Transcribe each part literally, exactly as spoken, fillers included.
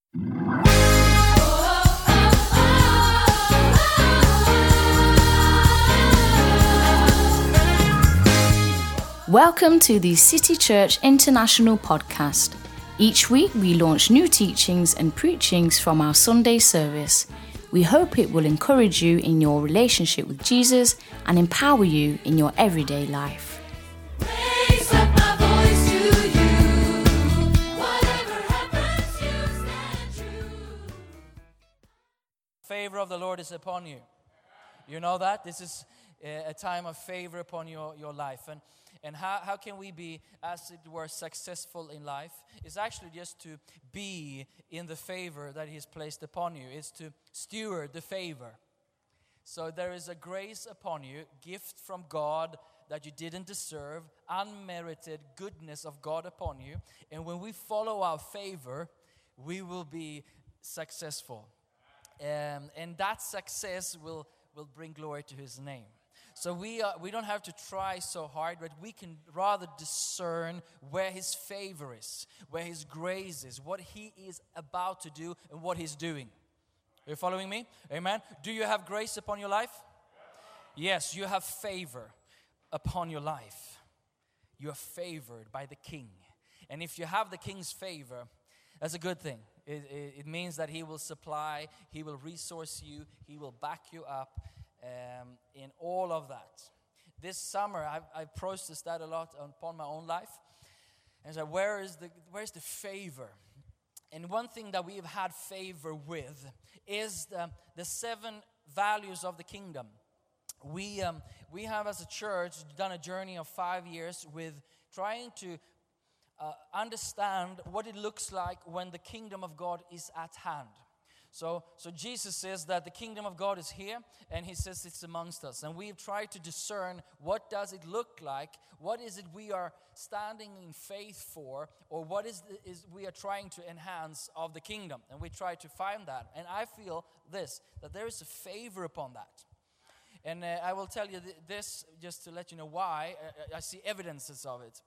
Welcome to the City Church International podcast. Each week we launch new teachings and preachings from our Sunday service. We hope it will encourage you in your relationship with Jesus and empower you in your everyday life. Raise up my voice to you. Whatever happens, you stand true. Favor of the Lord is upon you. You know that? This is a time of favor upon your, your life. And and how, how can we be, as it were, successful in life? It's actually just to be in the favor that He's placed upon you. It's to steward the favor. So there is a grace upon you, gift from God that you didn't deserve, unmerited goodness of God upon you. And when we follow our favor, we will be successful. Um, and that success will, will bring glory to His name. So we are, we don't have to try so hard, but we can rather discern where His favor is, where His grace is, what He is about to do, and what He's doing. Are you following me? Amen. Do you have grace upon your life? Yes, you have favor upon your life. You are favored by the King. And if you have the King's favor, that's a good thing. It, it, it means that He will supply, He will resource you, He will back you up. Um, in all of that. This summer, I've, I've processed that a lot upon my own life. And so where is the where is the favor? And one thing that we have had favor with is the, the seven values of the kingdom. We, um, we have as a church done a journey of five years with trying to uh, understand what it looks like when the kingdom of God is at hand. So, so Jesus says that the kingdom of God is here, and He says it's amongst us. And we've tried to discern what does it look like, what is it we are standing in faith for, or what is, the, is we are trying to enhance of the kingdom. And we try to find that. And I feel this, that there is a favor upon that. And uh, I will tell you th- this just to let you know why. Uh, I see evidences of it.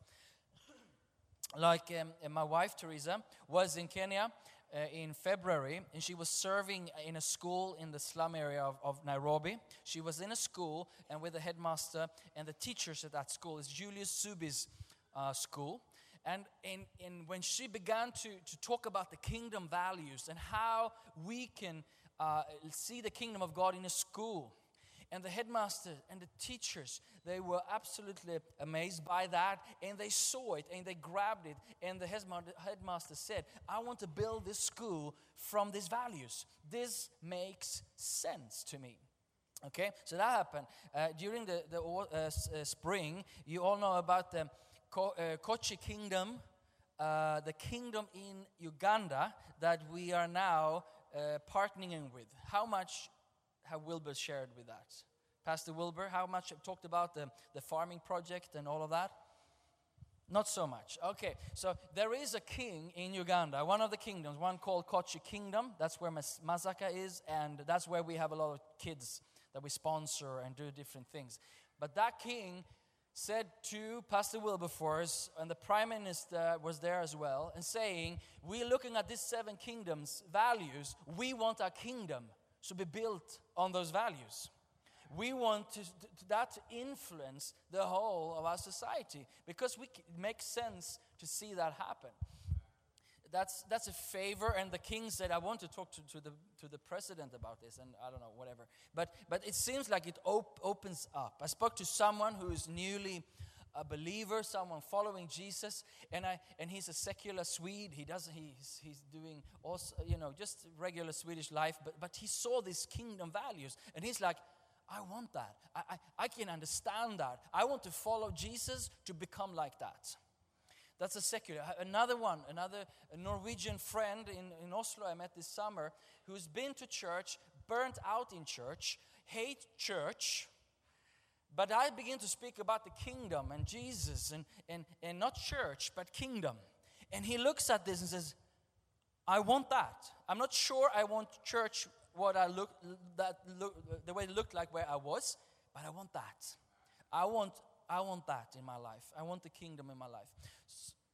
Like um, my wife, Teresa, was in Kenya Uh, in February, and she was serving in a school in the slum area of, of Nairobi. She was in a school and with the headmaster and the teachers at that school. It's Julius Subi's uh, school. And, and, and when she began to, to talk about the kingdom values and how we can uh, see the kingdom of God in a school, and the headmaster and the teachers, they were absolutely amazed by that. And they saw it and they grabbed it. And the headmaster said, I want to build this school from these values. This makes sense to me. Okay, so that happened. Uh, during the, the uh, uh, spring, you all know about the Ko- uh, Kochi Kingdom, uh, the kingdom in Uganda that we are now uh, partnering with. How much have Wilbur shared with that? Pastor Wilbur, how much have talked about the, the farming project and all of that? Not so much. Okay, so there is a king in Uganda, one of the kingdoms, one called Kochi Kingdom. That's where Mas- Masaka is, and that's where we have a lot of kids that we sponsor and do different things. But that king said to Pastor Wilbur for us, and the prime minister was there as well, and saying, we're looking at these seven kingdoms values. We want our kingdom to be built on those values. We want to, to, that to influence the whole of our society, because we, it makes sense to see that happen. That's that's a favor, and the king said, I want to talk to, to the to the president about this, and I don't know, whatever. But but it seems like it op- opens up. I spoke to someone who is newly a believer, someone following Jesus, and I and he's a secular Swede. He doesn't he's he's doing also, you know, just regular Swedish life, but but he saw these kingdom values, and he's like, I want that. I, I, I can understand that. I want to follow Jesus to become like that. That's a secular. Another one, another a Norwegian friend in, in Oslo I met this summer, who's been to church, burnt out in church, hate church. But I begin to speak about the kingdom and Jesus and, and, and not church, but kingdom. And he looks at this and says, I want that. I'm not sure I want church what I look that look the way it looked like where I was, but I want that. I want I want that in my life. I want the kingdom in my life.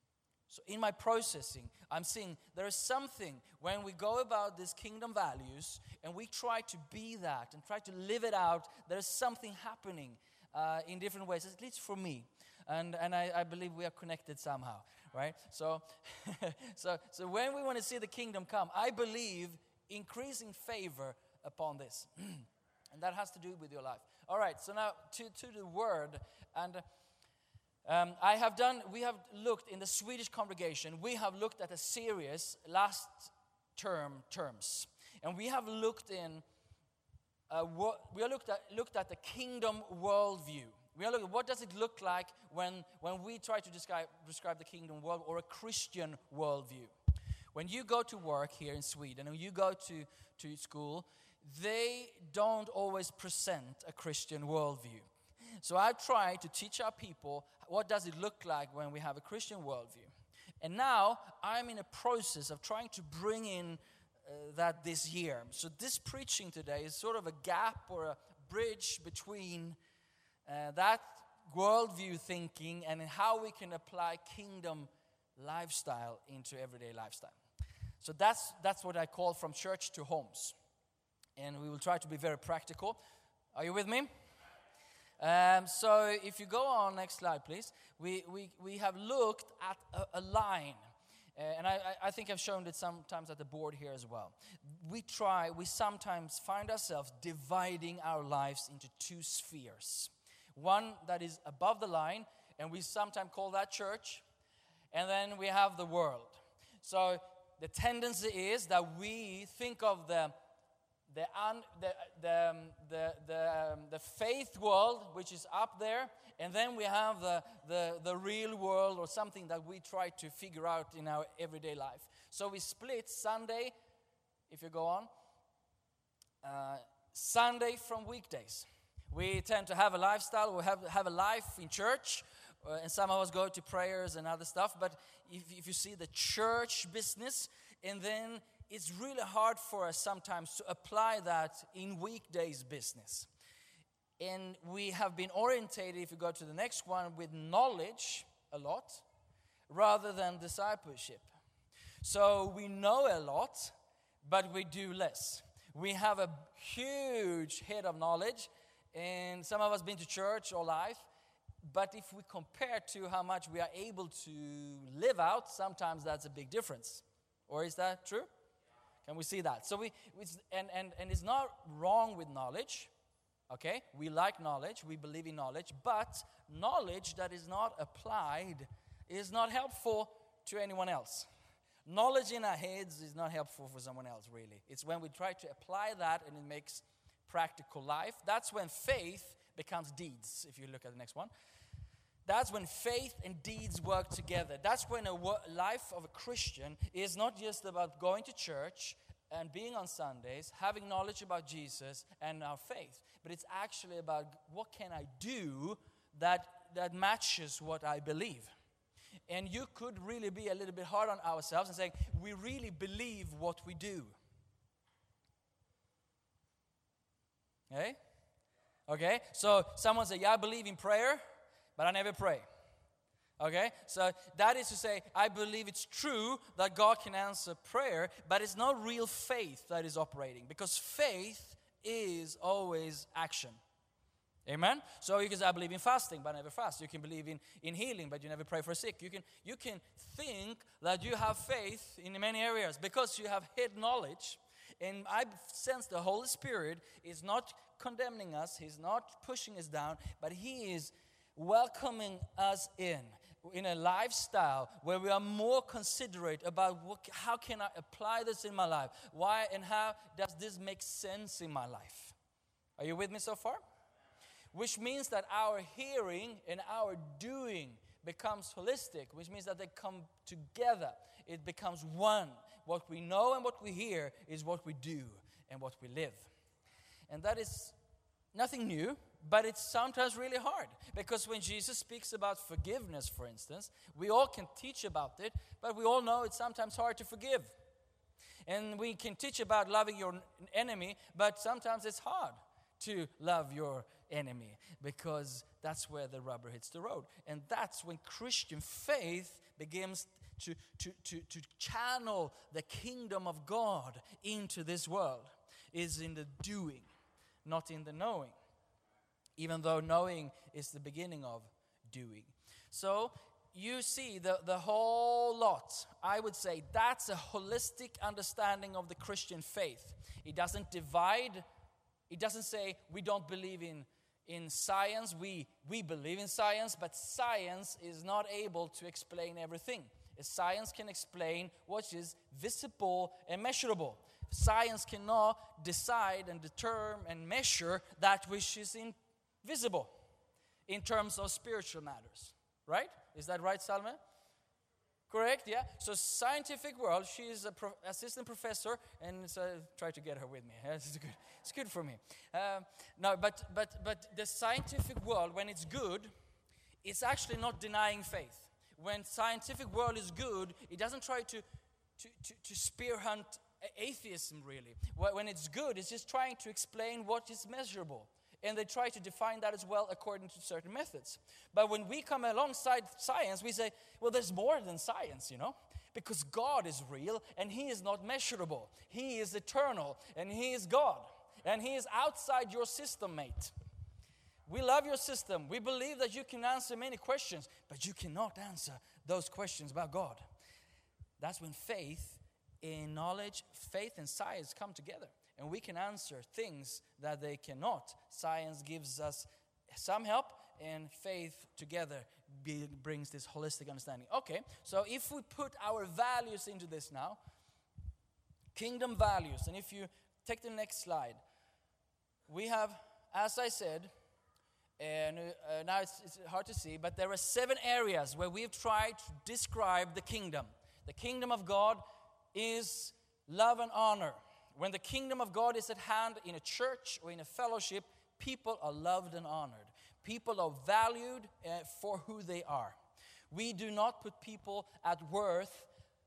So in my processing, I'm seeing there is something when we go about these kingdom values and we try to be that and try to live it out, there is something happening uh, in different ways, at least for me. And and I, I believe we are connected somehow, right? So, so, so when we want to see the kingdom come, I believe increasing favor upon this. And that has to do with your life. All right, so now to, to the word. And um, I have done, we have looked in the Swedish congregation, we have looked at a series last term terms. And we have looked in, uh, what, we have looked at, looked at the kingdom worldview. We are looking at what does it look like when, when we try to describe, describe the kingdom world or a Christian worldview. When you go to work here in Sweden and you go to, to school, they don't always present a Christian worldview. So I try to teach our people what does it look like when we have a Christian worldview. And now I'm in a process of trying to bring in uh, that this year. So this preaching today is sort of a gap or a bridge between uh, that worldview thinking and how we can apply kingdom lifestyle into everyday lifestyle. So that's that's what I call from church to homes. And we will try to be very practical. Are you with me? Um, so if you go on, next slide, please. We we, we have looked at a, a line. Uh, and I, I think I've shown it sometimes at the board here as well. We try, we sometimes find ourselves dividing our lives into two spheres. One that is above the line, and we sometimes call that church. And then we have the world. So the tendency is that we think of the the un, the the um, the the, um, the faith world, which is up there, and then we have the, the the real world, or something that we try to figure out in our everyday life. So we split Sunday, if you go on, uh, Sunday from weekdays. We tend to have a lifestyle, we have have a life in church. Uh, and some of us go to prayers and other stuff, but if, if you see the church business, and then it's really hard for us sometimes to apply that in weekdays business. And we have been orientated, if you go to the next one, with knowledge a lot, rather than discipleship. So we know a lot, but we do less. We have a huge head of knowledge, and some of us been to church all life. But if we compare to how much we are able to live out, sometimes that's a big difference. Or is that true? Can we see that? So we, it's, and, and, and it's not wrong with knowledge, okay? We like knowledge, we believe in knowledge, but knowledge that is not applied is not helpful to anyone else. Knowledge in our heads is not helpful for someone else, really. It's when we try to apply that and it makes practical life. That's when faith becomes deeds, if you look at the next one. That's when faith and deeds work together. That's when a wo- life of a Christian is not just about going to church and being on Sundays, having knowledge about Jesus and our faith, but it's actually about what can I do that, that matches what I believe. And you could really be a little bit hard on ourselves and saying, we really believe what we do. Okay? Okay, so someone say, yeah, I believe in prayer, but I never pray. Okay, so that is to say, I believe it's true that God can answer prayer, but it's not real faith that is operating, because faith is always action. Amen? So you can say, I believe in fasting, but I never fast. You can believe in, in healing, but you never pray for sick. You can, you can think that you have faith in many areas because you have head knowledge. And I sense the Holy Spirit is not condemning us, He's not pushing us down, but He is welcoming us in, in a lifestyle where we are more considerate about what, how can I apply this in my life? Why and how does this make sense in my life? Are you with me so far? Which means that our hearing and our doing becomes holistic, which means that they come together. It becomes one. What we know and what we hear is what we do and what we live. And that is nothing new, but it's sometimes really hard. Because when Jesus speaks about forgiveness, for instance, we all can teach about it, but we all know it's sometimes hard to forgive. And we can teach about loving your enemy, but sometimes it's hard to love your enemy, because that's where the rubber hits the road. And that's when Christian faith begins to, to, to, to channel the kingdom of God into this world is in the doing, not in the knowing. Even though knowing is the beginning of doing. So you see the, the whole lot. I would say that's a holistic understanding of the Christian faith. It doesn't divide. It doesn't say we don't believe in, in science. We, we believe in science, but science is not able to explain everything. Science can explain what is visible and measurable. Science cannot decide and determine and measure that which is invisible in terms of spiritual matters. Right? Is that right, Salme? Correct, yeah? So scientific world, she is an pro- assistant professor, and so try to get her with me. It's good, it's good for me. Um, no, but, but, but the scientific world, when it's good, it's actually not denying faith. When scientific world is good, it doesn't try to, to, to, to spear hunt atheism, really. When it's good, it's just trying to explain what is measurable. And they try to define that as well according to certain methods. But when we come alongside science, we say, well, there's more than science, you know. Because God is real and He is not measurable. He is eternal and He is God. And He is outside your system, mate. We love your system. We believe that you can answer many questions, but you cannot answer those questions about God. That's when faith and knowledge, faith and science come together. And we can answer things that they cannot. Science gives us some help, and faith together be, brings this holistic understanding. Okay, so if we put our values into this now, kingdom values, and if you take the next slide, we have, as I said, and uh, now it's, it's hard to see, but there are seven areas where we've tried to describe the kingdom. The kingdom of God is love and honor. When the kingdom of God is at hand in a church or in a fellowship, people are loved and honored. People are valued uh, for who they are. We do not put people at worth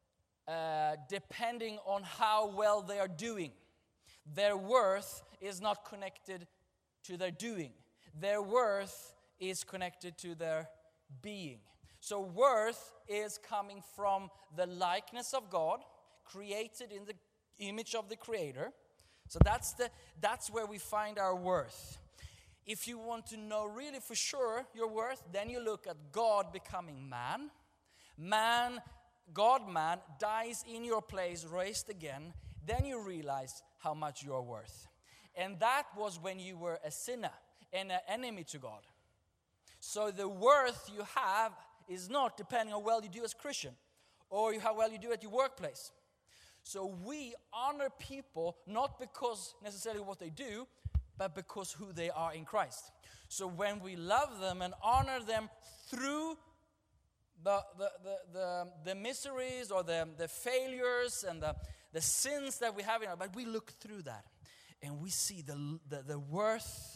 uh, depending on how well they are doing. Their worth is not connected to their doing. Their worth is connected to their being. So worth is coming from the likeness of God, created in the image of the Creator. So that's the that's where we find our worth. If you want to know really for sure your worth, then you look at God becoming man. Man, God-man, dies in your place, raised again. Then you realize how much you are worth. And that was when you were a sinner and an enemy to God. So the worth you have is not depending on how well you do as a Christian or how well you do at your workplace. So we honor people not because necessarily what they do, but because who they are in Christ. So when we love them and honor them through the the the the, the miseries or the, the failures and the, the sins that we have in our, but we look through that and we see the the, the worth,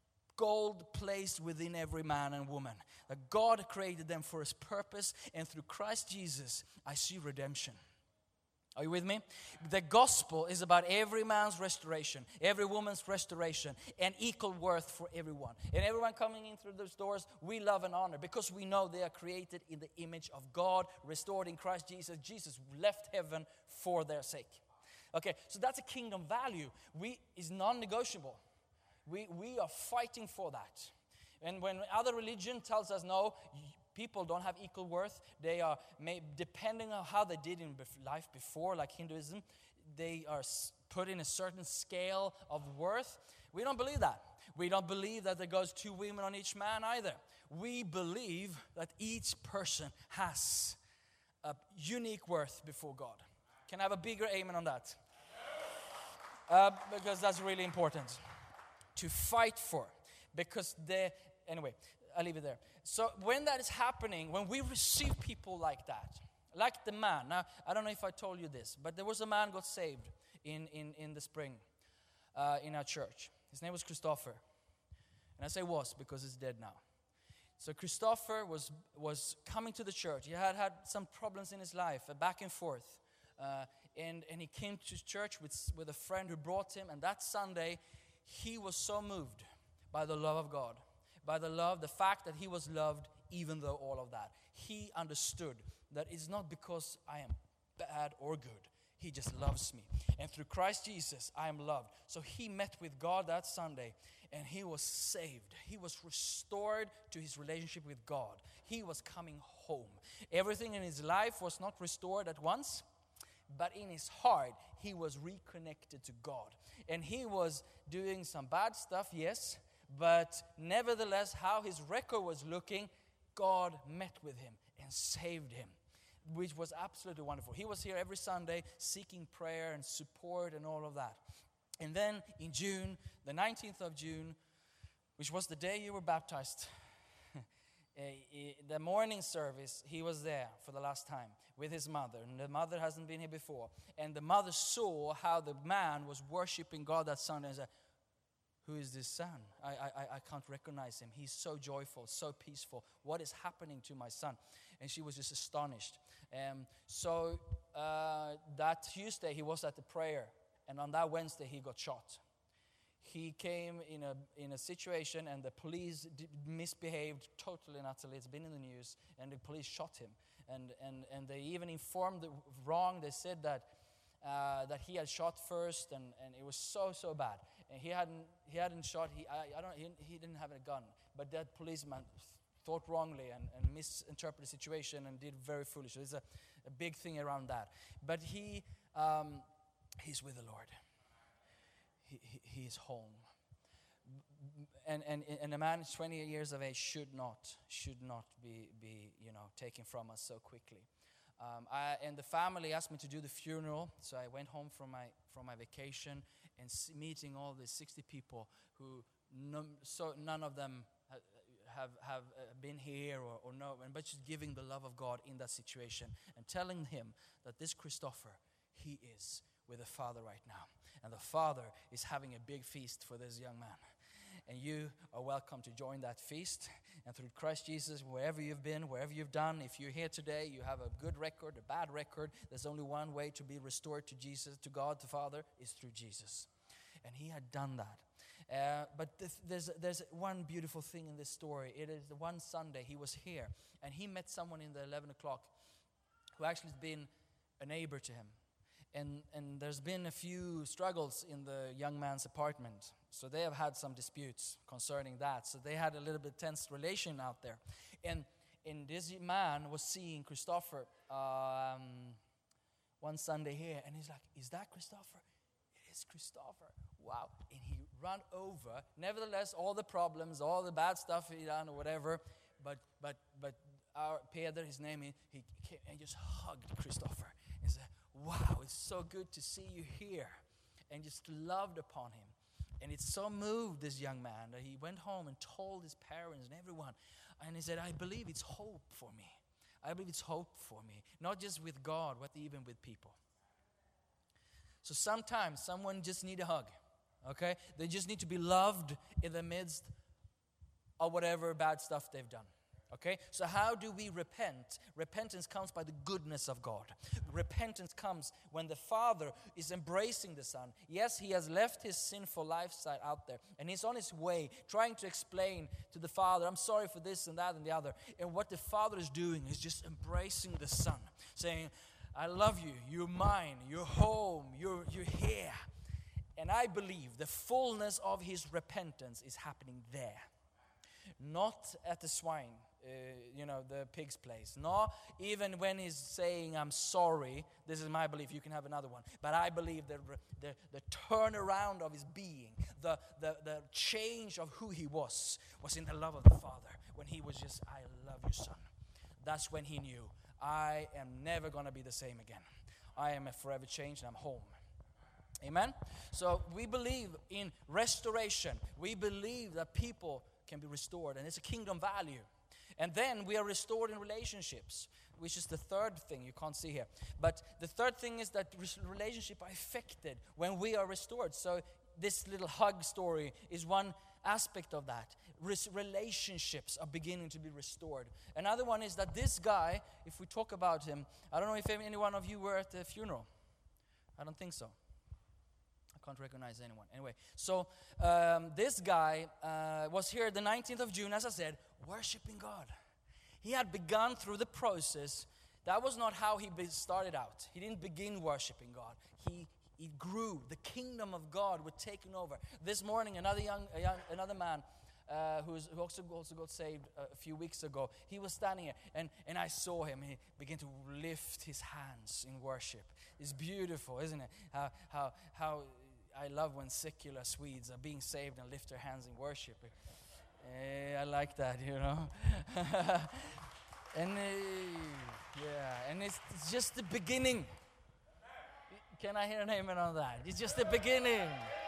gold placed within every man and woman. That God created them for His purpose, and through Christ Jesus, I see redemption. Are you with me? The gospel is about every man's restoration, every woman's restoration, and equal worth for everyone. And everyone coming in through those doors, we love and honor because we know they are created in the image of God, restored in Christ Jesus. Jesus left heaven for their sake. Okay, so that's a kingdom value. We is non-negotiable. We we are fighting for that. And when other religion tells us no, people don't have equal worth. They are, may, depending on how they did in life before, like Hinduism, they are put in a certain scale of worth. We don't believe that. We don't believe that there goes two women on each man either. We believe that each person has a unique worth before God. Can I have a bigger amen on that? Uh, because that's really important to fight for. Because they, anyway, I'll leave it there. So when that is happening, when we receive people like that, like the man. Now, I don't know if I told you this, but there was a man got saved in, in, in the spring uh, in our church. His name was Christopher. And I say was because he's dead now. So Christopher was, was coming to the church. He had had some problems in his life, uh, back and forth. Uh, and, and he came to church with, with a friend who brought him. And that Sunday, he was so moved by the love of God. By the love, the fact that he was loved even though all of that. He understood that it's not because I am bad or good. He just loves me. And through Christ Jesus, I am loved. So he met with God that Sunday, and he was saved. He was restored to his relationship with God. He was coming home. Everything in his life was not restored at once, but in his heart, he was reconnected to God. And he was doing some bad stuff, yes, but nevertheless, how his record was looking, God met with him and saved him, which was absolutely wonderful. He was here every Sunday seeking prayer and support and all of that. And then in June, the nineteenth of June, which was the day you were baptized, the morning service, he was there for the last time with his mother. And the mother hasn't been here before. And the mother saw how the man was worshiping God that Sunday and said, who is this son? I, I, I can't recognize him. He's so joyful, so peaceful. What is happening to my son? And she was just astonished. Um, so uh, that Tuesday he was at the prayer. And on that Wednesday he got shot. He came in a in a situation and the police d- misbehaved totally and utterly. It's been in the news. And the police shot him. And and, and they even informed the wrong. They said that uh, that he had shot first. And, and it was so, so bad. And he hadn't he hadn't shot. He I, I don't he, he didn't have a gun. But that policeman thought wrongly and, and misinterpreted the situation and did very foolish. There's a, a big thing around that. But he um, he's with the Lord. He, he, he is home. And, and and a man twenty years of age should not should not be be you know taken from us so quickly. Um, I, and the family asked me to do the funeral, so I went home from my from my vacation and s- meeting all the sixty people who none, so none of them ha- have have uh, been here or, or no, but just giving the love of God in that situation and telling him that this Christopher, he is with the Father right now. And the Father is having a big feast for this young man. And you are welcome to join that feast. And through Christ Jesus, wherever you've been, wherever you've done, if you're here today, you have a good record, a bad record, there's only one way to be restored to Jesus, to God the Father, is through Jesus. And he had done that. Uh, but th- there's there's one beautiful thing in this story. It is the one Sunday he was here. And he met someone in the eleven o'clock who actually has been a neighbor to him. And and there's been a few struggles in the young man's apartment. So they have had some disputes concerning that. So they had a little bit tense relation out there. And, and this man was seeing Christopher um, one Sunday here. And he's like, is that Christopher? It is Christopher. Wow. And he ran over. Nevertheless, all the problems, all the bad stuff he done or whatever. But but but our Peder, his name, he, he came and just hugged Christopher. And said, wow, it's so good to see you here. And just loved upon him. And it so moved this young man that he went home and told his parents and everyone. And he said, I believe it's hope for me. I believe it's hope for me. Not just with God, but even with people. So sometimes someone just need a hug. Okay? They just need to be loved in the midst of whatever bad stuff they've done. Okay, so how do we repent? Repentance comes by the goodness of God. Repentance comes when the Father is embracing the Son. Yes, he has left his sinful lifestyle out there, and he's on his way trying to explain to the Father, I'm sorry for this and that and the other. And what the Father is doing is just embracing the Son, saying, I love you, you're mine, you're home, you're, you're here. And I believe the fullness of his repentance is happening there. Not at the swine. Uh, you know, the pig's place. Not even when he's saying, I'm sorry. This is my belief. You can have another one. But I believe the the, the turnaround of his being, the, the, the change of who he was, was in the love of the Father. When he was just, I love you, son. That's when he knew, I am never going to be the same again. I am a forever changed and I'm home. Amen? So we believe in restoration. We believe that people can be restored. And it's a kingdom value. And then we are restored in relationships, which is the third thing you can't see here. But the third thing is that relationships are affected when we are restored. So this little hug story is one aspect of that. Relationships are beginning to be restored. Another one is that this guy, if we talk about him, I don't know if any one of you were at the funeral. I don't think so. I can't recognize anyone. Anyway, so um, this guy uh, was here the nineteenth of June, as I said, worshiping God. He had begun through the process that was not how he be- started out. He didn't begin worshiping God. He he grew. The kingdom of God was taken over. This morning, another young, a young another man uh, who's, who also, also got saved a few weeks ago, he was standing here, and, and I saw him. He began to lift his hands in worship. It's beautiful, isn't it? How how how I love when secular Swedes are being saved and lift their hands in worship. Eh, I like that, you know. and uh, yeah, and it's, it's just the beginning. Can I hear an amen on that? It's just the beginning.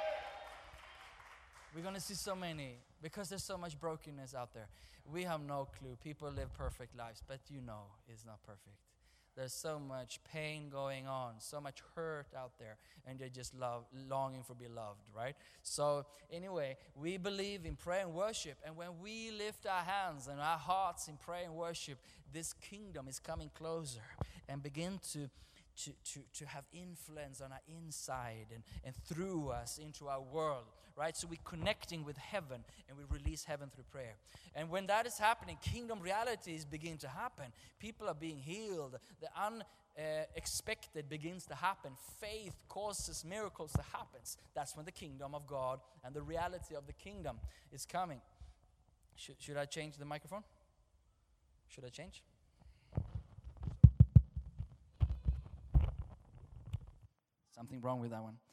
We're going to see so many, because there's so much brokenness out there. We have no clue. People live perfect lives, but you know it's not perfect. There's so much pain going on, so much hurt out there, and they're just love, longing for be loved, right? So anyway, we believe in prayer and worship, and when we lift our hands and our hearts in prayer and worship, this kingdom is coming closer and begin to To, to, to have influence on our inside and, and through us into our world, right? So we're connecting with heaven, and we release heaven through prayer. And when that is happening, kingdom realities begin to happen. People are being healed. The unexpected begins to happen. Faith causes miracles to happen. That's when the kingdom of God and the reality of the kingdom is coming. Should, should I change the microphone? Should I change? Something wrong with that one.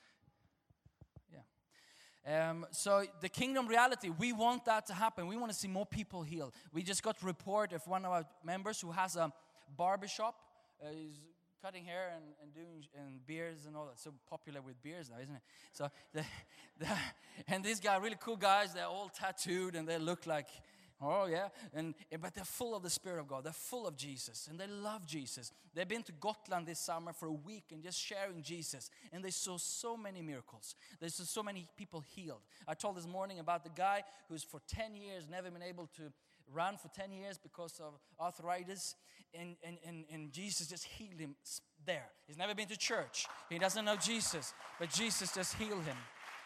Yeah. Um, so the kingdom reality, we want that to happen. We want to see more people healed. We just got a report of one of our members who has a barbershop. Uh, he's cutting hair and, and doing and beards and all that. So popular with beards now, isn't it? So the, the, and these guys, really cool guys, they're all tattooed and they look like, oh yeah, and but they're full of the Spirit of God. They're full of Jesus, and they love Jesus. They've been to Gotland this summer for a week and just sharing Jesus, and they saw so many miracles. They saw so many people healed. I told this morning about the guy who's for ten years never been able to run for ten years because of arthritis, and, and, and, and Jesus just healed him there. He's never been to church. He doesn't know Jesus, but Jesus just healed him.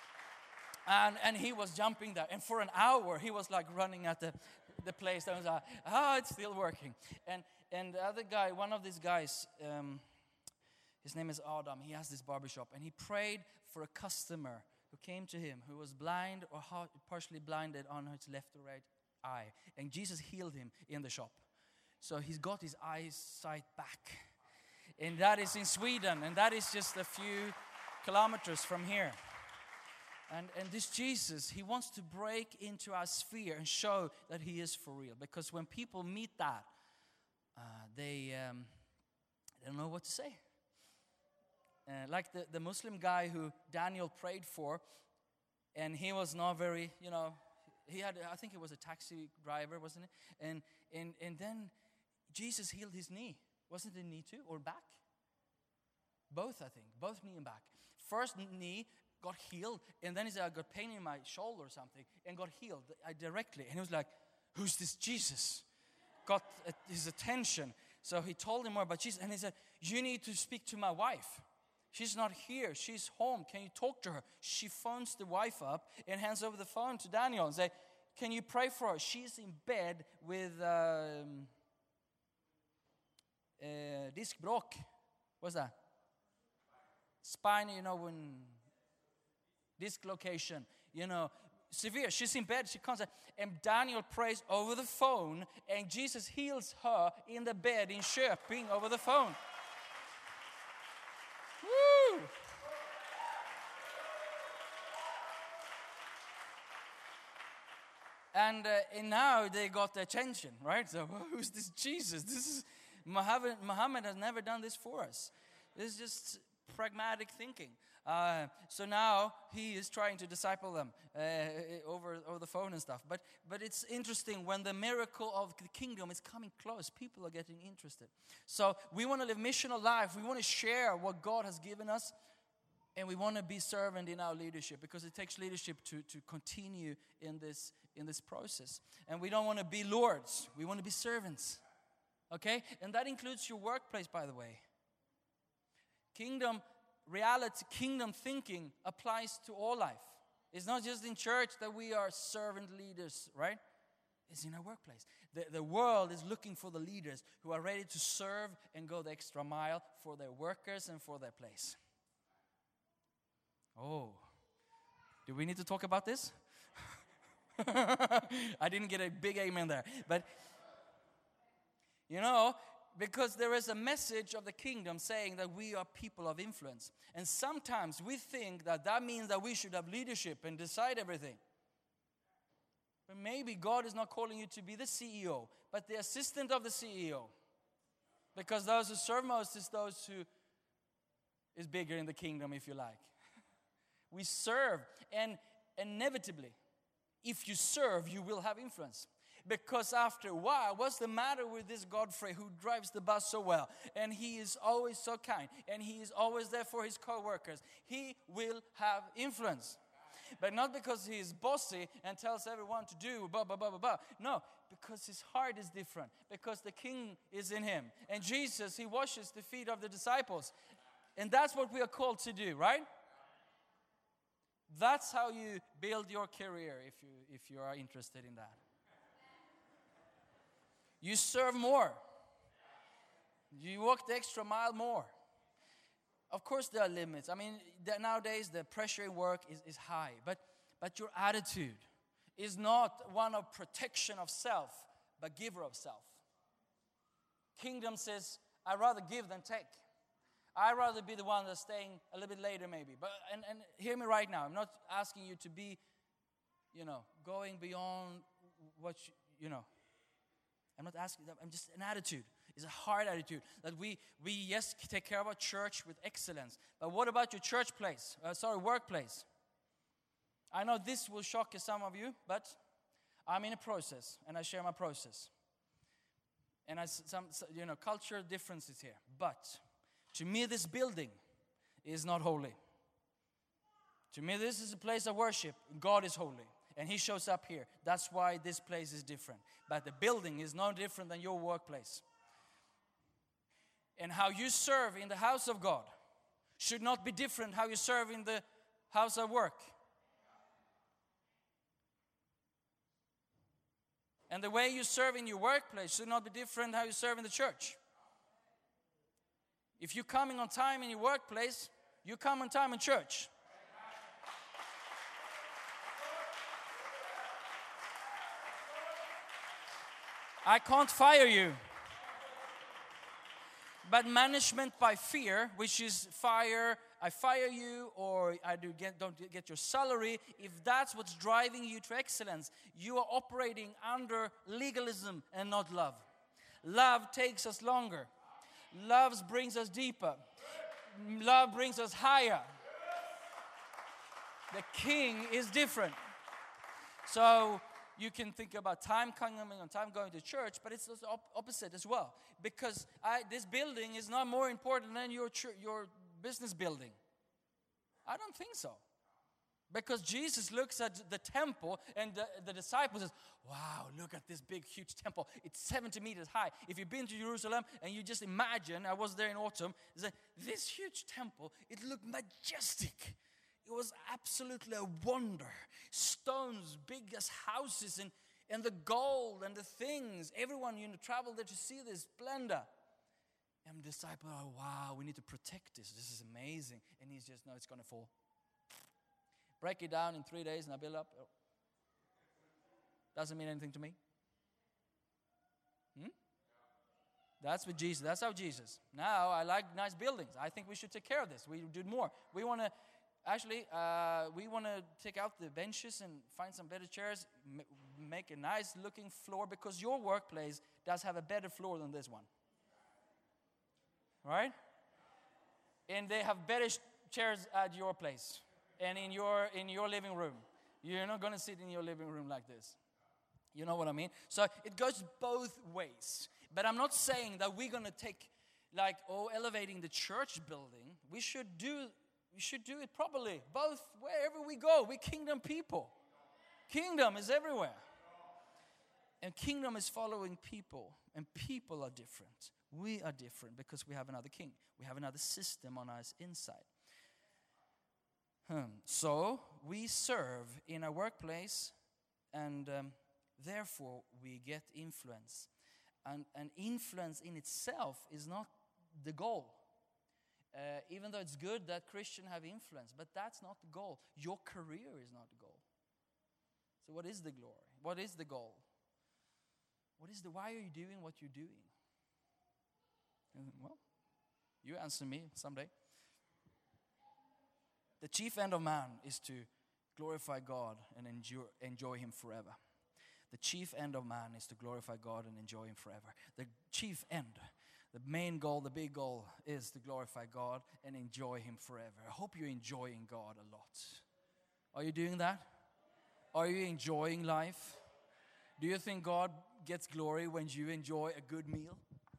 And and he was jumping there. And for an hour, he was like running at the, the place. And I was like, ah, it's still working. And and the other guy, one of these guys, um, his name is Adam. He has this barbershop. And he prayed for a customer who came to him who was blind or ha- partially blinded on his left or right eye. And Jesus healed him in the shop. So he's got his eyesight back. And that is in Sweden. And that is just a few kilometers from here. And, and this Jesus, he wants to break into our sphere and show that he is for real. Because when people meet that, uh, they, um, they don't know what to say. Uh, like the, the Muslim guy who Daniel prayed for, and he was not very, you know, he had, I think he was a taxi driver, wasn't it? And, and, and then Jesus healed his knee. Wasn't it knee too, or back? Both, I think, both knee and back. First knee got healed, and then he said, I got pain in my shoulder or something, and got healed I directly. And he was like, who's this Jesus? Got uh, his attention. So he told him more about Jesus, and he said, you need to speak to my wife. She's not here. She's home. Can you talk to her? She phones the wife up and hands over the phone to Daniel and say, can you pray for her? She's in bed with um, uh, diskbråck. What's that? Spine, you know, when... dislocation, you know, severe. She's in bed, she comes out, and Daniel prays over the phone, and Jesus heals her in the bed in Köping over the phone. Woo! And, uh, and now they got their attention, right? So who's this Jesus? This is Muhammad. Muhammad has never done this for us. This is just pragmatic thinking. Uh, so now he is trying to disciple them uh, over over the phone and stuff. But but it's interesting when the miracle of the kingdom is coming close, people are getting interested. So we want to live missional life. We want to share what God has given us, and we want to be servant in our leadership, because it takes leadership to to continue in this in this process. And we don't want to be lords. We want to be servants. Okay, and that includes your workplace, by the way. Kingdom reality, kingdom thinking applies to all life. It's not just in church that we are servant leaders, right? is in our workplace. The, the world is looking for the leaders who are ready to serve and go the extra mile for their workers and for their place. Oh, do we need to talk about this? I didn't get a big amen there. But, you know, because there is a message of the kingdom saying that we are people of influence. And sometimes we think that that means that we should have leadership and decide everything. But maybe God is not calling you to be the C E O, but the assistant of the C E O. Because those who serve most is those who is bigger in the kingdom, if you like. We serve, and inevitably, if you serve, you will have influence. Because after a while, what's the matter with this Godfrey who drives the bus so well? And he is always so kind. And he is always there for his co-workers. He will have influence. But not because he is bossy and tells everyone to do blah, blah, blah, blah, blah. No, because his heart is different. Because the king is in him. And Jesus, he washes the feet of the disciples. And that's what we are called to do, right? That's how you build your career if you, if you are interested in that. You serve more. You walk the extra mile more. Of course there are limits. I mean, the, nowadays the pressure in work is, is high. But, but your attitude is not one of protection of self, but giver of self. Kingdom says, I'd rather give than take. I'd rather be the one that's staying a little bit later maybe. But and, and hear me right now. I'm not asking you to be, you know, going beyond what, you, you know. I'm not asking that. I'm just an attitude. It's a hard attitude. That we, we yes, take care of our church with excellence. But what about your church place? Uh, sorry, workplace. I know this will shock some of you, but I'm in a process. And I share my process. And I, some, you know, cultural differences here. But to me, this building is not holy. To me, this is a place of worship. God is holy. And he shows up here. That's why this place is different. But the building is no different than your workplace. And how you serve in the house of God should not be different how you serve in the house of work. And the way you serve in your workplace should not be different how you serve in the church. If you're coming on time in your workplace, you come on time in church. I can't fire you. But management by fear, which is fire, I fire you, or I do get, don't get your salary, if that's what's driving you to excellence, you are operating under legalism and not love. Love takes us longer. Love brings us deeper. Love brings us higher. The king is different. So you can think about time coming on time going to church, but it's the op- opposite as well. Because I, this building is not more important than your ch- your business building. I don't think so. Because Jesus looks at the temple and the, the disciples says, wow, look at this big, huge temple. It's seventy meters high. If you've been to Jerusalem and you just imagine, I was there in autumn, this huge temple, it looked majestic. It was absolutely a wonder. Stones, big as houses, and, and the gold and the things. Everyone, you know, traveled there to see this splendor. And the disciple, oh, wow, we need to protect this. This is amazing. And he's just, no, it's going to fall. Break it down in three days and I build up. Oh. Doesn't mean anything to me. Hmm? That's with Jesus. That's how Jesus. Now, I like nice buildings. I think we should take care of this. We do more. We want to, actually, uh, we want to take out the benches and find some better chairs, m- make a nice looking floor, because your workplace does have a better floor than this one. Right? And they have better sh- chairs at your place and in your in your living room. You're not going to sit in your living room like this. You know what I mean? So it goes both ways. But I'm not saying that we're going to take, like, oh, elevating the church building. We should do we should do it properly. Both, wherever we go, we're kingdom people. Kingdom is everywhere. And kingdom is following people. And people are different. We are different because we have another king. We have another system on our inside. Hmm. So we serve in our workplace, and um, therefore we get influence. And, and influence in itself is not the goal. Uh, even though it's good that Christians have influence, but that's not the goal. Your career is not the goal. So what is the glory? What is the goal? What is the, why are you doing what you're doing? And, well, you answer me someday. The chief end of man is to glorify God and enjoy, enjoy Him forever. The chief end of man is to glorify God and enjoy Him forever. The chief end, the main goal, the big goal is to glorify God and enjoy Him forever. I hope you're enjoying God a lot. Are you doing that? Are you enjoying life? Do you think God gets glory when you enjoy a good meal?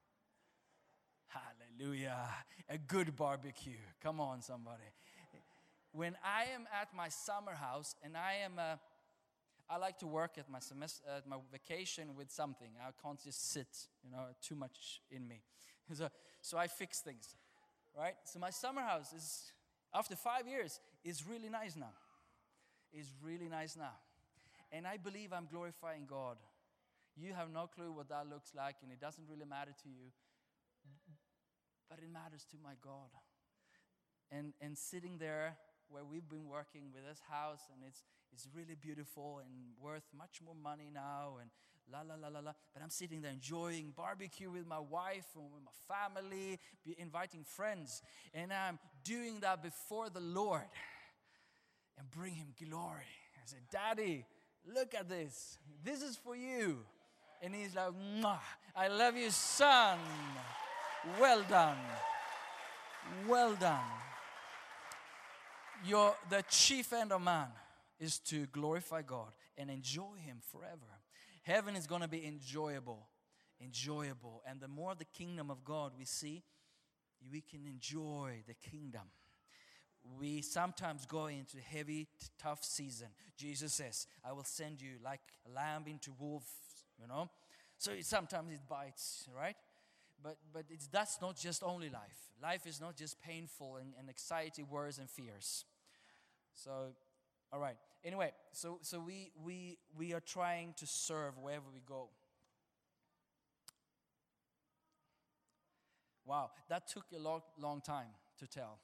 Hallelujah. A good barbecue. Come on, somebody. When I am at my summer house and I am a I like to work at my semester, at my vacation with something. I can't just sit, you know, too much in me. So, so I fix things, right? So my summer house is, after five years, is really nice now. It's really nice now. And I believe I'm glorifying God. You have no clue what that looks like, and it doesn't really matter to you. But it matters to my God. And and sitting there where we've been working with this house, and it's it's really beautiful and worth much more money now, and la la la la la. But I'm sitting there enjoying barbecue with my wife and with my family, be inviting friends, and I'm doing that before the Lord and bring Him glory. I said, Daddy, look at this. This is for you. And He's like, Mwah, I love you, son. Well done. Well done. Your, the chief end of man is to glorify God and enjoy Him forever. Heaven is going to be enjoyable, enjoyable. And the more the kingdom of God we see, we can enjoy the kingdom. We sometimes go into heavy, tough season. Jesus says, I will send you like a lamb into wolves, you know. So it, sometimes it bites, right? But but it's that's not just only life. Life is not just painful and, and anxiety, worries, and fears. So, all right. Anyway, so so we we we are trying to serve wherever we go. Wow, that took a long long time to tell.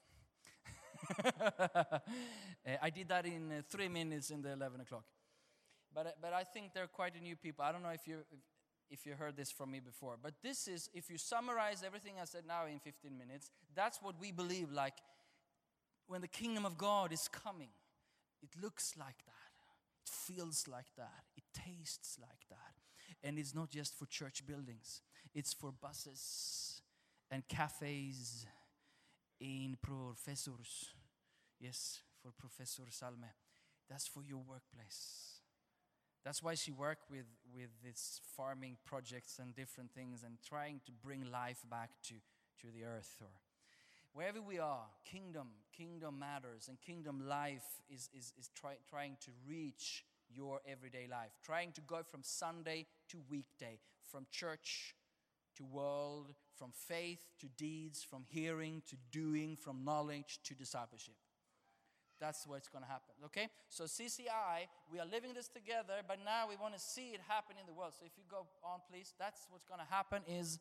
I did that in uh, three minutes in the eleven o'clock. But uh, but I think they're quite a new people. I don't know if you if, if you heard this from me before. But this is, if you summarize everything I said now in fifteen minutes, that's what we believe. Like when the kingdom of God is coming, it looks like that. It feels like that. It tastes like that. And it's not just for church buildings. It's for buses and cafes in professors. Yes, for Professor Salme. That's for your workplace. That's why she worked with, with these farming projects and different things and trying to bring life back to, to the earth. Or wherever we are, kingdom, kingdom matters, and kingdom life is, is, is try, trying to reach your everyday life. Trying to go from Sunday to weekday, from church to world, from faith to deeds, from hearing to doing, from knowledge to discipleship. That's what's going to happen, okay? So C C I, we are living this together, but now we want to see it happen in the world. So if you go on, please, that's what's going to happen is,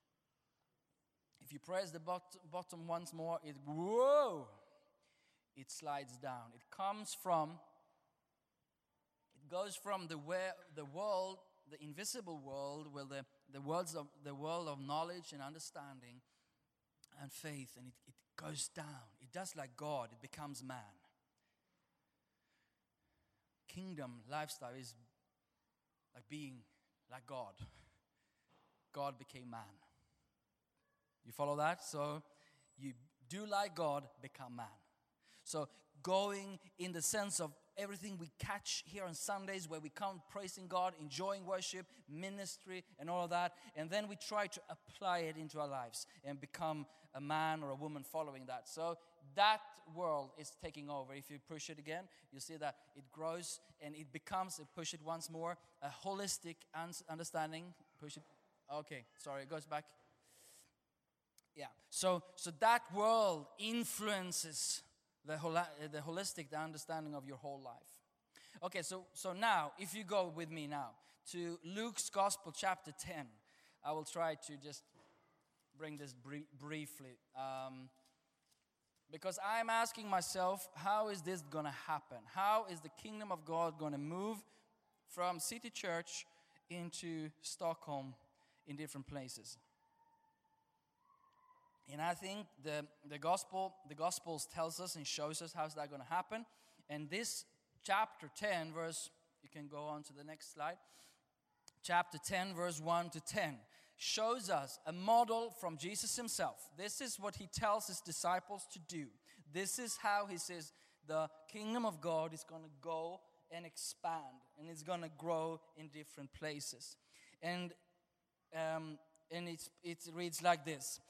if you press the bot- bottom once more, it, whoa, it slides down. It comes from, it goes from the, where, the world, the invisible world, where the, the, worlds of, the world of knowledge and understanding and faith, and it, it goes down. It does like God, it becomes man. Kingdom lifestyle is like being like God. God became man. You follow that? So you do like God, become man. So going in the sense of everything we catch here on Sundays, where we come praising God, enjoying worship, ministry, and all of that. And then we try to apply it into our lives and become a man or a woman following that. So that world is taking over. If you push it again, you see that it grows and it becomes, push it once more, a holistic understanding. Push it. Okay, sorry, it goes back. Yeah, so so that world influences the hol- the holistic, the understanding of your whole life. Okay, so, so now, if you go with me now to Luke's Gospel, chapter ten, I will try to just bring this brie- briefly. Um, because I'm asking myself, how is this going to happen? How is the kingdom of God going to move from City Church into Stockholm in different places? And I think the, the gospel, the Gospels tells us and shows us how's that going to happen. And this chapter ten, verse, you can go on to the next slide. Chapter ten, verse one to ten, shows us a model from Jesus himself. This is what he tells his disciples to do. This is how he says the kingdom of God is going to go and expand. And it's going to grow in different places. And, um, and it's, it reads like this.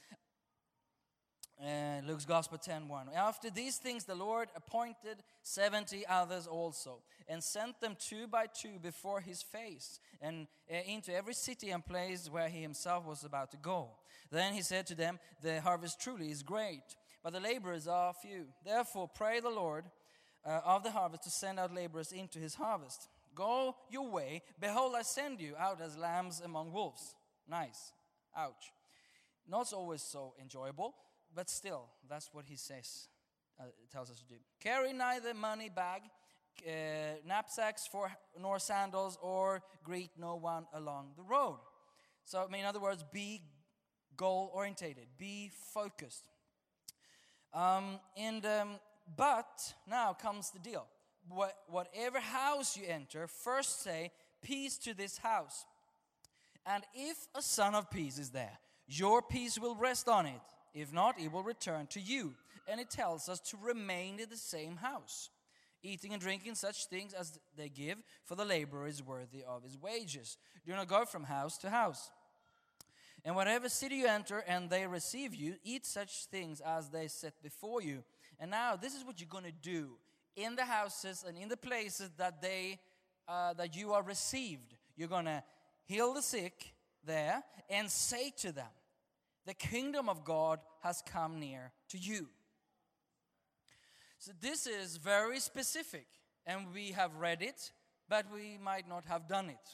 Uh, Luke's Gospel ten one. After these things the Lord appointed seventy others also, and sent them two by two before his face, and uh, into every city and place where he himself was about to go. Then he said to them, the harvest truly is great, but the laborers are few. Therefore pray the Lord uh, of the harvest to send out laborers into his harvest. Go your way, behold, I send you out as lambs among wolves. Nice. Ouch. Not always so enjoyable. But still, that's what he says, uh, tells us to do. Carry neither money bag, uh, knapsacks for nor sandals, or greet no one along the road. So, I mean, in other words, be goal-orientated, be focused. Um, and um, but now comes the deal. What, whatever house you enter, first say, peace to this house. And if a son of peace is there, your peace will rest on it. If not, it will return to you. And it tells us to remain in the same house, eating and drinking such things as they give, for the laborer is worthy of his wages. Do not go from house to house. And whatever city you enter and they receive you, eat such things as they set before you. And now this is what you're going to do in the houses and in the places that they uh, that you are received. You're going to heal the sick there and say to them, the kingdom of God has come near to you. So this is very specific, and we have read it, but we might not have done it.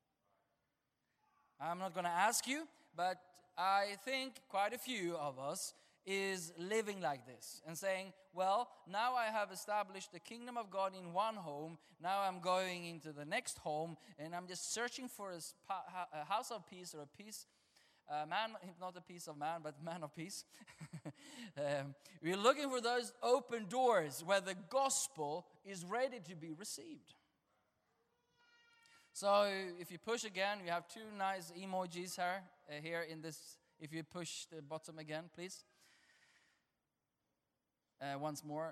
I'm not going to ask you, but I think quite a few of us is living like this and saying, well, now I have established the kingdom of God in one home, now I'm going into the next home, and I'm just searching for a, spa, a house of peace or a peace Uh, man, not a piece of man, but man of peace. um, we're looking for those open doors where the gospel is ready to be received. So if you push again, we have two nice emojis here, uh, here in this. If you push the bottom again, please. Uh, once more.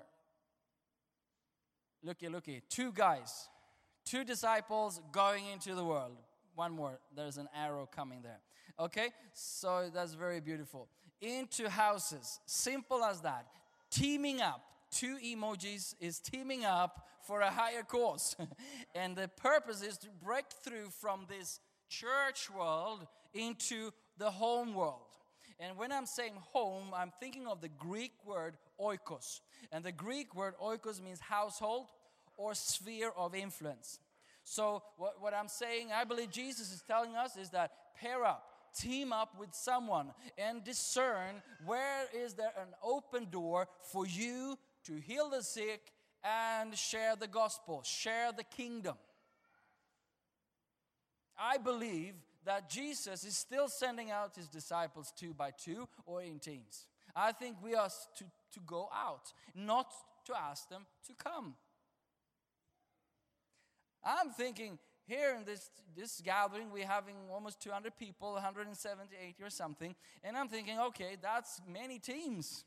Looky, looky. Two guys, two disciples going into the world. One more. There's an arrow coming there. Okay, so that's very beautiful. Into houses, simple as that. Teaming up, two emojis is teaming up for a higher cause. And the purpose is to break through from this church world into the home world. And when I'm saying home, I'm thinking of the Greek word oikos. And the Greek word oikos means household or sphere of influence. So what, what I'm saying, I believe Jesus is telling us is that pair up. Team up with someone and discern where is there an open door for you to heal the sick and share the gospel, share the kingdom. I believe that Jesus is still sending out his disciples two by two or in teams. I think we are to, to go out, not to ask them to come. I'm thinking, here in this, this gathering, we're having almost two hundred people, one hundred seventy, eighty or something. And I'm thinking, okay, that's many teams.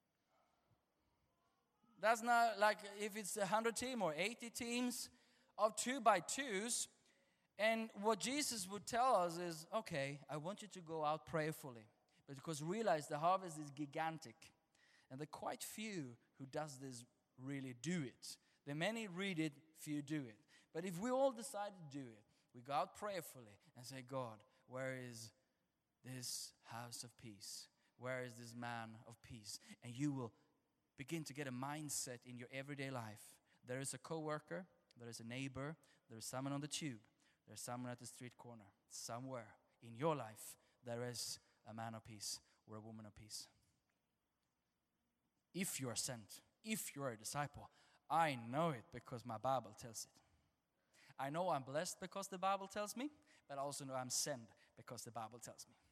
That's not like if it's one hundred team or eighty teams of two by twos. And what Jesus would tell us is, okay, I want you to go out prayerfully. But because realize the harvest is gigantic. And there are quite few who does this really do it. The many read it, few do it. But if we all decide to do it, we go out prayerfully and say, God, where is this house of peace? Where is this man of peace? And you will begin to get a mindset in your everyday life. There is a coworker, there is a neighbor, there is someone on the tube, there is someone at the street corner. Somewhere in your life, there is a man of peace or a woman of peace. If you are sent, if you are a disciple, I know it because my Bible tells it. I know I'm blessed because the Bible tells me, but I also know I'm sent because the Bible tells me.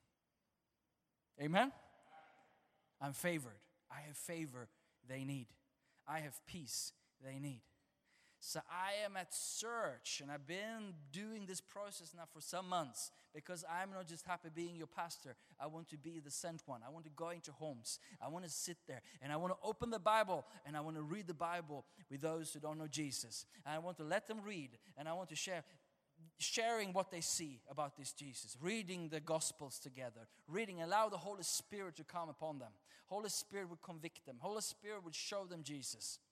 Amen? I'm favored. I have favor they need. I have peace they need. So I am at search, and I've been doing this process now for some months because I'm not just happy being your pastor. I want to be the sent one. I want to go into homes. I want to sit there, and I want to open the Bible, and I want to read the Bible with those who don't know Jesus. And I want to let them read, and I want to share, sharing what they see about this Jesus, reading the Gospels together, reading, allow the Holy Spirit to come upon them. Holy Spirit would convict them. Holy Spirit would show them Jesus.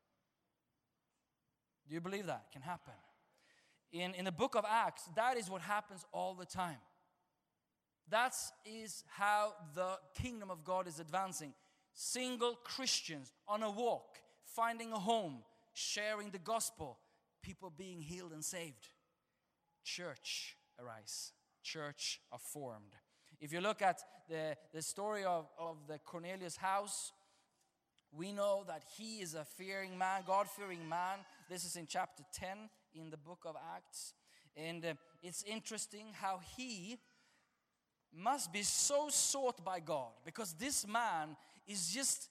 Do you believe that can happen? In, in the book of Acts, that is what happens all the time. That is how the kingdom of God is advancing. Single Christians on a walk, finding a home, sharing the gospel, people being healed and saved. Church arise. Church are formed. If you look at the, the story of, of the Cornelius house, we know that he is a fearing man, God-fearing man. This is in chapter ten in the book of Acts. And uh, it's interesting how he must be so sought by God, because this man is just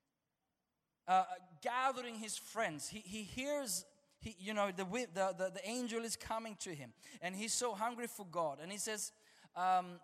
uh, gathering his friends. He, he hears, he, you know, the, the, the, the angel is coming to him, and he's so hungry for God. And he says, um,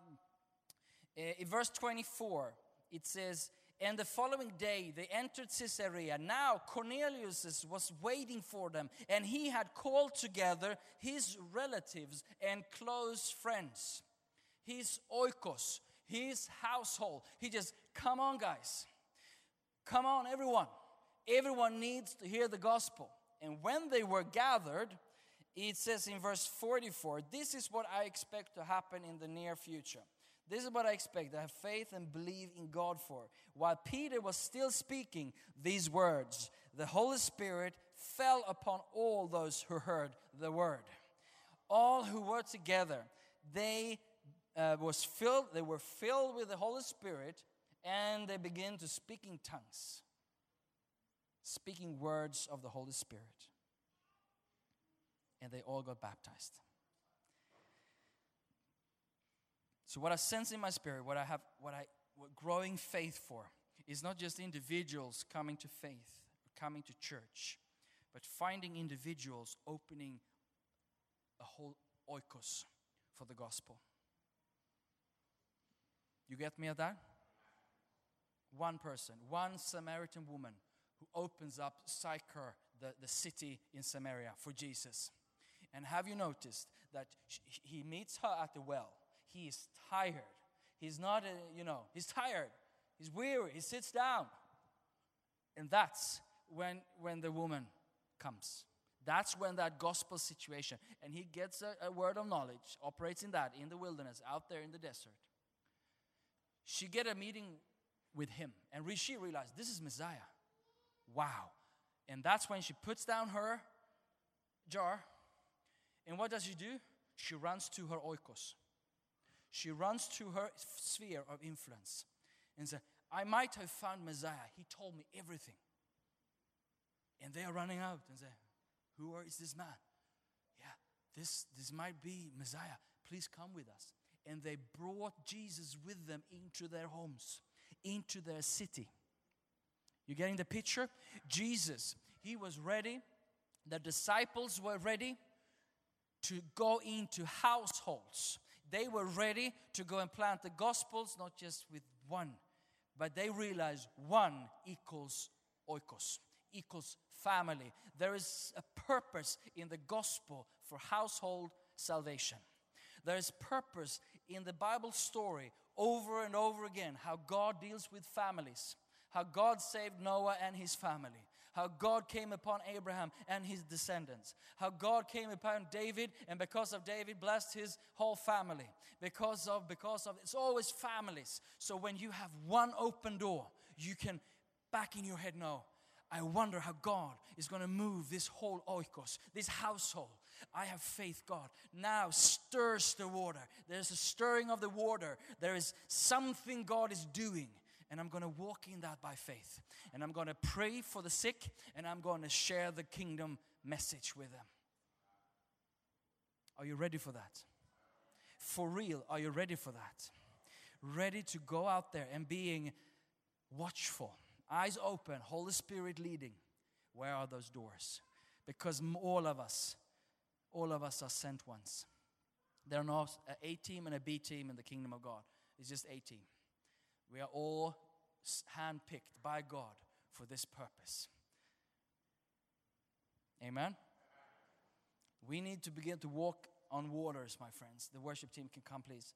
in verse twenty-four, it says, and the following day they entered Caesarea. Now Cornelius was waiting for them, and he had called together his relatives and close friends, his oikos, his household. He just, come on guys, come on everyone. Everyone needs to hear the gospel. And when they were gathered, it says in verse forty-four, this is what I expect to happen in the near future. This is what I expect, to have faith and believe in God for. While Peter was still speaking these words, the Holy Spirit fell upon all those who heard the word. All who were together, they uh, was filled. They were filled with the Holy Spirit, and they began to speak in tongues, speaking words of the Holy Spirit. And they all got baptized. So what I sense in my spirit, what I have, what I, what growing faith for, is not just individuals coming to faith, coming to church, but finding individuals opening a whole oikos for the gospel. You get me at that? One person, one Samaritan woman who opens up Sychar, the, the city in Samaria, for Jesus. And have you noticed that she, he meets her at the well? He is tired. He's not, a, you know, he's tired. He's weary. He sits down. And that's when, when the woman comes. That's when that gospel situation. And he gets a, a word of knowledge, operates in that, in the wilderness, out there in the desert. She get a meeting with him. And re- she realized, this is Messiah. Wow. And that's when she puts down her jar. And what does she do? She runs to her oikos. She runs to her sphere of influence and says, I might have found Messiah. He told me everything. And they are running out and say, who is this man? Yeah, this, this might be Messiah. Please come with us. And they brought Jesus with them into their homes, into their city. You getting the picture? Jesus, he was ready. The disciples were ready to go into households. They were ready to go and plant the gospels, not just with one, but they realized one equals oikos, equals family. There is a purpose in the gospel for household salvation. There is purpose in the Bible story over and over again, how God deals with families, how God saved Noah and his family, how God came upon Abraham and his descendants, how God came upon David, and because of David blessed his whole family. Because of, because of, it's always families. So when you have one open door, you can back in your head know, I wonder how God is going to move this whole oikos, this household. I have faith, God. Now stirs the water. There's a stirring of the water. There is something God is doing. And I'm going to walk in that by faith. And I'm going to pray for the sick. And I'm going to share the kingdom message with them. Are you ready for that? For real, are you ready for that? Ready to go out there and being watchful. Eyes open, Holy Spirit leading. Where are those doors? Because all of us, all of us are sent ones. There are no an A team and a B team in the kingdom of God. It's just A team. We are all handpicked by God for this purpose. Amen? We need to begin to walk on waters, my friends. The worship team can come, please.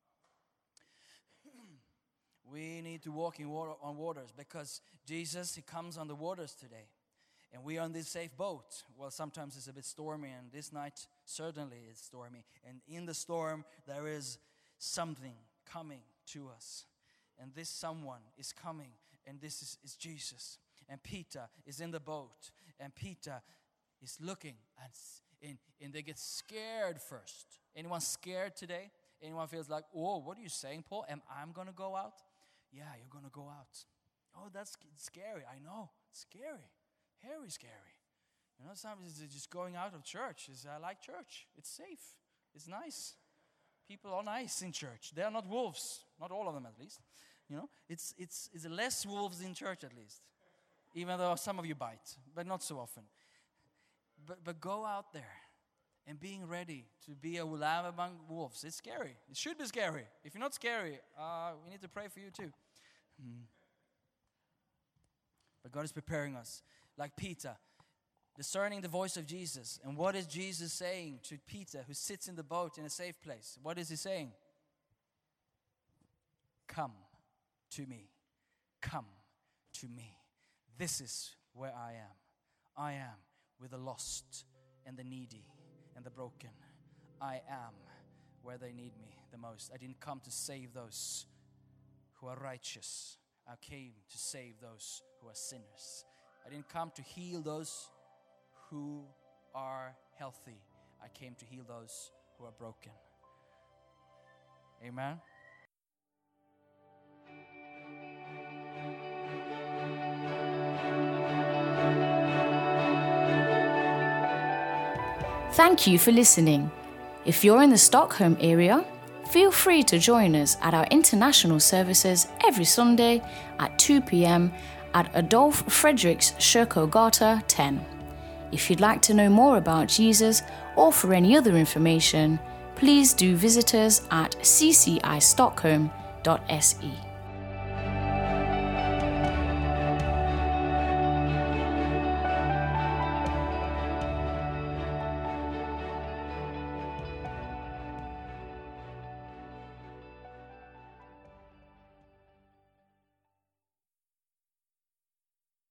We need to walk in water, on waters because Jesus, He comes on the waters today. And we are on this safe boat. Well, sometimes it's a bit stormy, and this night certainly it's stormy. And in the storm, there is something coming to us. And this someone is coming, and this is, is Jesus. And Peter is in the boat, and Peter is looking, and, and, and they get scared first. Anyone scared today? Anyone feels like, oh, what are you saying, Paul? Am I going to go out? Yeah, you're going to go out. Oh, that's scary. I know. It's scary. Very scary. You know, sometimes it's just going out of church. Is I like church. It's safe. It's nice. People are nice in church. They are not wolves. Not all of them, at least. You know, it's it's it's less wolves in church, at least. Even though some of you bite, but not so often. But but go out there and being ready to be a lamb among wolves. It's scary. It should be scary. If you're not scary, uh, we need to pray for you too. Hmm. But God is preparing us. Like Peter, discerning the voice of Jesus. And what is Jesus saying to Peter, who sits in the boat in a safe place? What is He saying? Come to me. Come to me. This is where I am. I am with the lost and the needy and the broken. I am where they need me the most. I didn't come to save those who are righteous. I came to save those who are sinners. I didn't come to heal those who are healthy. I came to heal those who are broken. Amen. Thank you for listening. If you're in the Stockholm area, feel free to join us at our international services every Sunday at two p.m. at Adolf Fredriks Kyrkogata ten. If you'd like to know more about Jesus or for any other information, please do visit us at c c i stockholm dot s e.